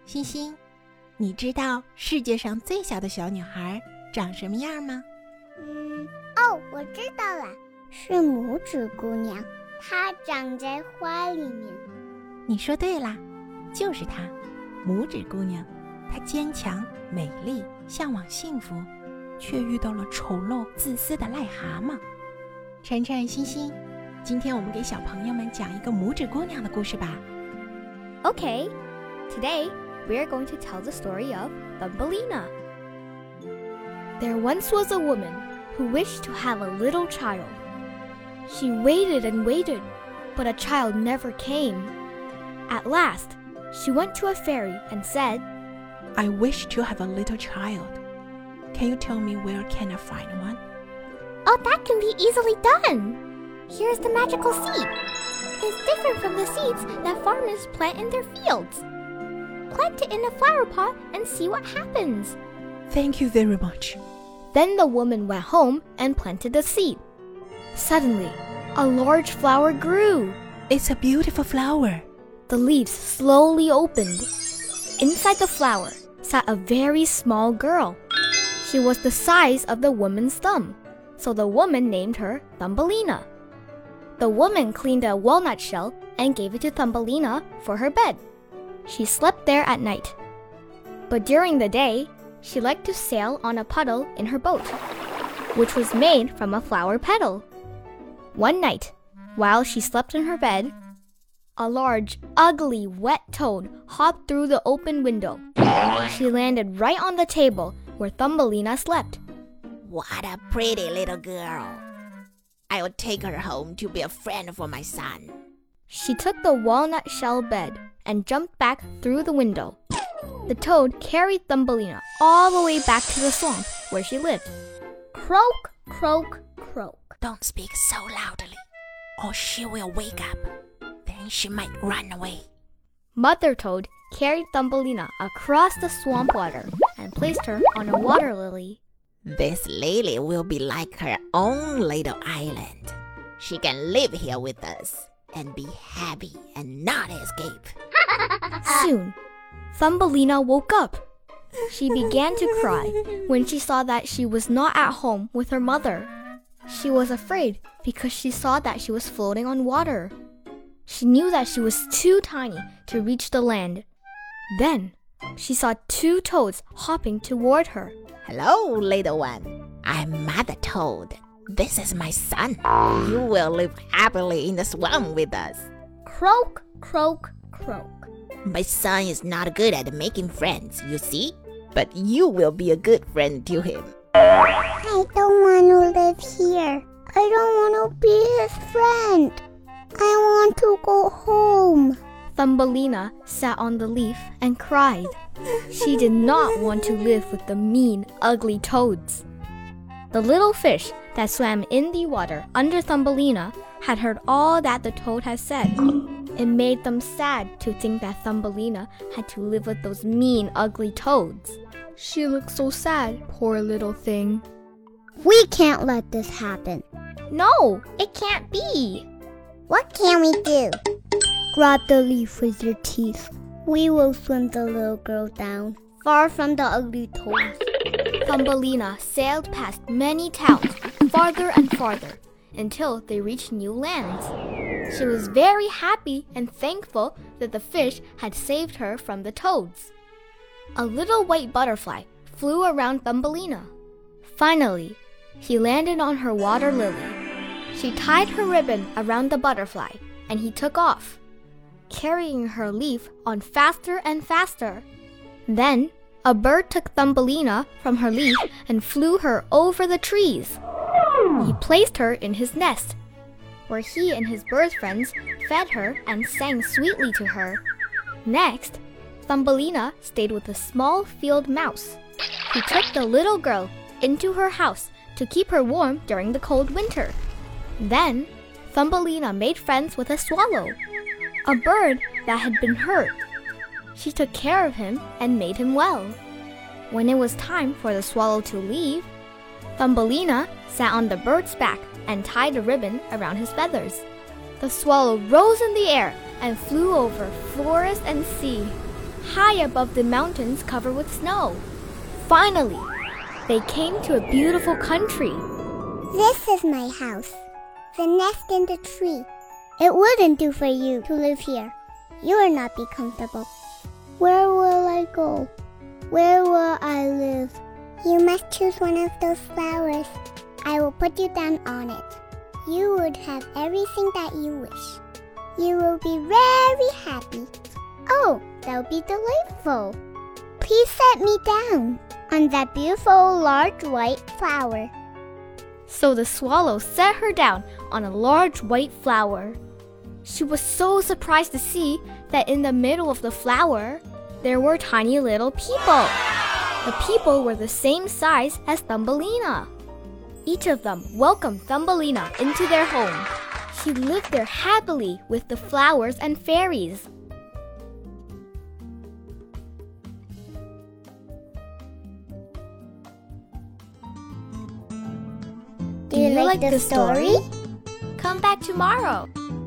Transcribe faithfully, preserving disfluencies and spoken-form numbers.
欣欣，你知道世界上最小的小女孩长什么样吗？ 嗯，哦，我知道了，是拇指姑娘，她长在花里面。 你说对啦，就是她，拇指姑娘。她坚强、美丽，向往幸福，却遇到了丑陋、自私的癞蛤蟆。晨晨、欣欣，今天我们给小朋友们讲一个拇指姑娘的故事吧。 Okay, today we are going to tell the story of Thumbelina. There once was a woman who wished to have a little child. She waited and waited, but a child never came. At last, she went to a fairy and said, I wish to have a little child. Can you tell me where can I find one? Oh, that can be easily done. Here's the magical seed. It's different from the seeds that farmers plant in their fields. Plant it in a flower pot and see what happens. Thank you very much. Then the woman went home and planted the seed. Suddenly, a large flower grew. It's a beautiful flower. The leaves slowly opened. Inside the flower sat a very small girl. She was the size of the woman's thumb, so the woman named her Thumbelina. The woman cleaned a walnut shell and gave it to Thumbelina for her bed. She slept there at night. But during the day, she liked to sail on a puddle in her boat, which was made from a flower petal. One night, while she slept in her bed, a large, ugly, wet toad hopped through the open window. She landed right on the table where Thumbelina slept. What a pretty little girl. I will take her home to be a friend for my son. She took the walnut shell bed and jumped back through the window. The toad carried Thumbelina all the way back to the swamp where she lived. Croak, croak, croak. Don't speak so loudly, or she will wake up. Then she might run away. Mother Toad carried Thumbelina across the swamp water and placed her on a water lily. This lily will be like her own little island. She can live here with us and be happy and not escape. Soon, Thumbelina woke up. She began to cry when she saw that she was not at home with her mother. She was afraid because she saw that she was floating on water. She knew that she was too tiny to reach the land. Then, she saw two toads hopping toward her. Hello, little one. I'm Mother Toad. This is my son. You will live happily in the swamp with us. Croak, croak, croak. My son is not good at making friends, you see? But you will be a good friend to him. I don't want to live here. I don't want to be his friend. I want to go home. Thumbelina sat on the leaf and cried. She did not want to live with the mean, ugly toads. The little fish that swam in the water under Thumbelina had heard all that the toad had said. It made them sad to think that Thumbelina had to live with those mean, ugly toads. She looked so sad, poor little thing. We can't let this happen. No, it can't be. What can we do? Grab the leaf with your teeth. We will swim the little girl down, far from the ugly toads. Thumbelina sailed past many towns, farther and farther, until they reached new lands. She was very happy and thankful that the fish had saved her from the toads. A little white butterfly flew around Thumbelina. Finally, he landed on her water lily. She tied her ribbon around the butterfly, and he took off, carrying her leaf on faster and faster. Then, a bird took Thumbelina from her leaf and flew her over the trees. He placed her in his nest, where he and his bird friends fed her and sang sweetly to her. Next, Thumbelina stayed with a small field mouse. He took the little girl into her house to keep her warm during the cold winter. Then, Thumbelina made friends with a swallow, a bird that had been hurt. She took care of him and made him well. When it was time for the swallow to leave, Thumbelina sat on the bird's back and tied a ribbon around his feathers. The swallow rose in the air and flew over forest and sea. high above the mountains covered with snow. Finally, they came to a beautiful country. This is my house, the nest in the tree. It wouldn't do for you to live here. You will not be comfortable. Where will I go? Where will I live? You must choose one of those flowers. I will put you down on it. You would have everything that you wish. You will be very happy. Oh, that will be delightful. Please set me down on that beautiful large white flower. So the swallow set her down on a large white flower. She was so surprised to see that in the middle of the flower, there were tiny little people. The people were the same size as Thumbelina. Each of them welcomed Thumbelina into their home. She lived there happily with the flowers and fairies. Do you, Do you like, like the the story? story? Come back tomorrow.